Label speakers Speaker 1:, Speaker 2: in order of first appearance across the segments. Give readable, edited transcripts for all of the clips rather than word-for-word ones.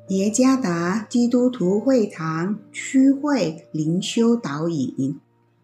Speaker 1: 耶加达基督徒会堂区会灵修导引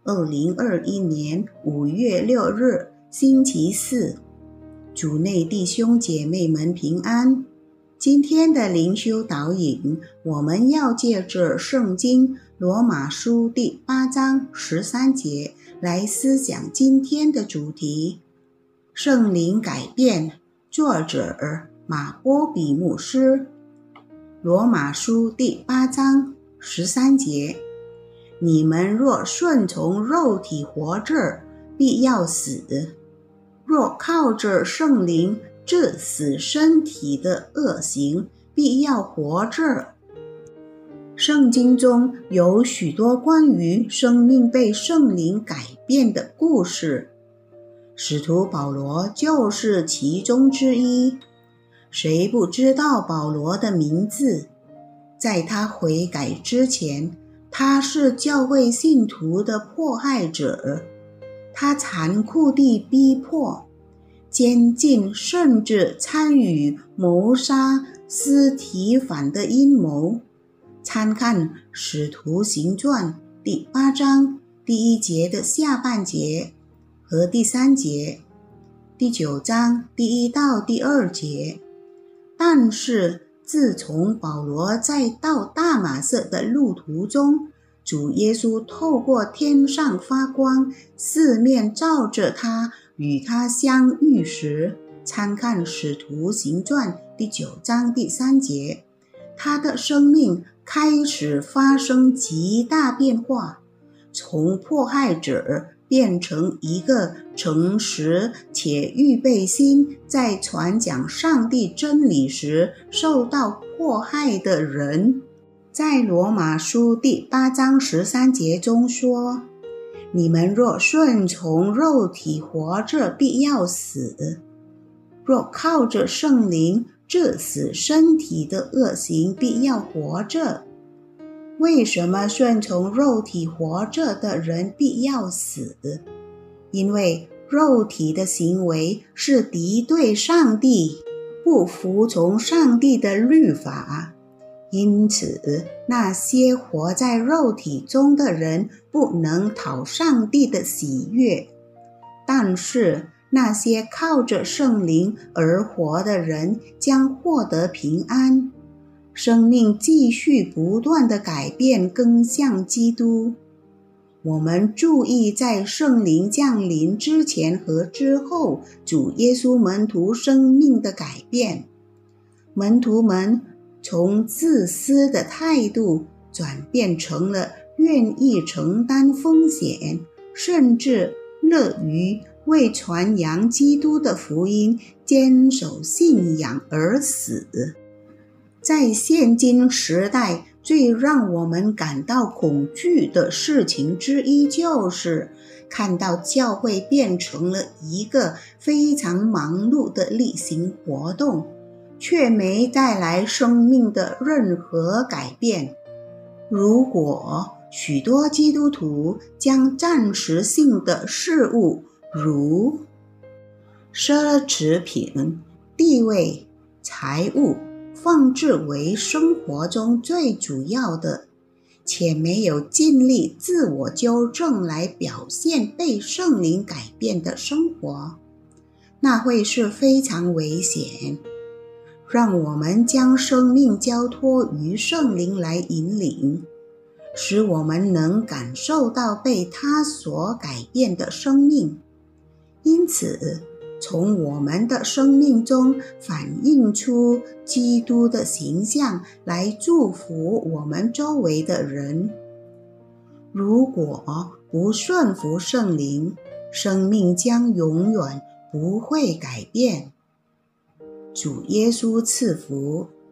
Speaker 1: ，2021年5月6日，星期四，主内弟兄姐妹们平安。今天的灵修导引，我们要借着圣经罗马书第8章13节来思想今天的主题。圣灵改变，作者马波比牧师。罗马书第8章13节，你们若顺从肉体活着，必要死；若靠着圣灵治死身体的恶行，必要活着。圣经中有许多关于生命被圣灵改变的故事，使徒保罗就是其中之一。谁不知道保罗的名字？在他悔改之前，他是教会信徒的迫害者，他残酷地逼迫、监禁，甚至参与谋杀司提反的阴谋。参看《使徒行传》第8章第1节的下半节和第3节，第9章第1到第2节。但是自从保罗在到大马色的路途中，主耶稣透过天上发光，四面照着他，与他相遇时，参看《使徒行传》第9章第3节，他的生命开始发生极大变化，从迫害者变成一个诚实且预备心，在传讲上帝真理时受到迫害的人。在罗马书第8章13节中说，你们若顺从肉体活着，必要死；若靠着圣灵治死身体的恶行，必要活着。为什么顺从肉体活着的人必要死？因为肉体的行为是敌对上帝，不服从上帝的律法，因此那些活在肉体中的人不能讨上帝的喜悦。但是那些靠着圣灵而活的人将获得平安，生命继续不断的改变，更向基督。我们注意在圣灵降临之前和之后，主耶稣门徒生命的改变。门徒们从自私的态度转变成了愿意承担风险，甚至乐于为传扬基督的福音坚守信仰而死。在现今时代，最让我们感到恐惧的事情之一，就是看到教会变成了一个非常忙碌的例行活动，却没带来生命的任何改变。如果许多基督徒将暂时性的事物，如奢侈品、地位、财物，放置为生活中最主要的，且没有尽力自我纠正来表现被圣灵改变的生活，那会是非常危险。让我们将生命交托于圣灵来引领，使我们能感受到被他所改变的生命。因此从我们的生命中反映出基督的形象，来祝福我们周围的人。如果不顺服圣灵，生命将永远不会改变。主耶稣赐福。